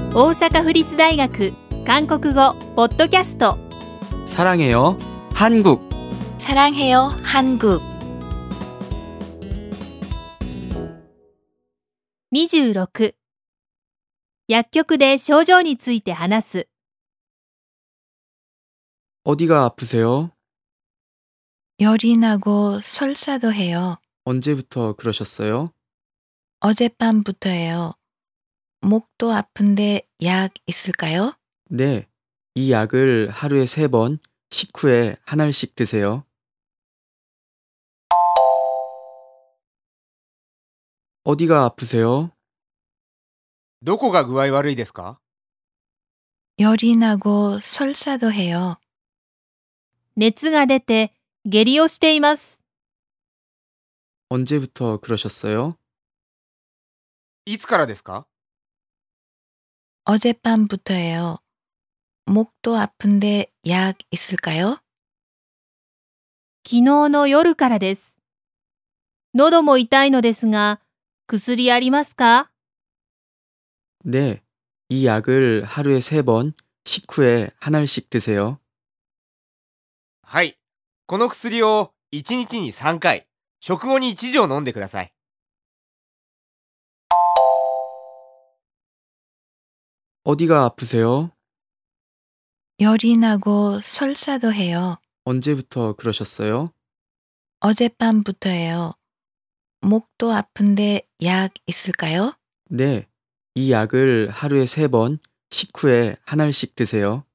大阪府立大学韓国語ポッドキャスト 사랑해요 한국 사랑해요 한국 26薬局で症状について話す 어디가 아프세요? 열이 나고 설사도 해요. 언제부터 그러셨어요? 어젯밤부터예요. 목도 아픈데 약 있을까요? 네, 이 약을 하루에 3번 식후에 한 알씩 드세요. 어디가 아프세요? どこが具合悪いですか？ 열이 나고 설사도 해요. 熱が出て下痢をしています 언제부터 그러셨어요? いつからですか？ 어젯밤부터예요. 목도 아픈데 약 있을까요? 昨日の夜からです。喉も痛いのですが、薬ありますか？ 네, 이 약을 하루에 3번 식후에 한 알씩 드세요. はい。この薬を1日に3回、食後に1錠飲んでください。 어디가 아프세요? 열이 나고 설사도 해요. 언제부터 그러셨어요? 어젯밤부터예요. 목도 아픈데 약 있을까요? 네, 이 약을 하루에 3번 식후에 한 알씩 드세요.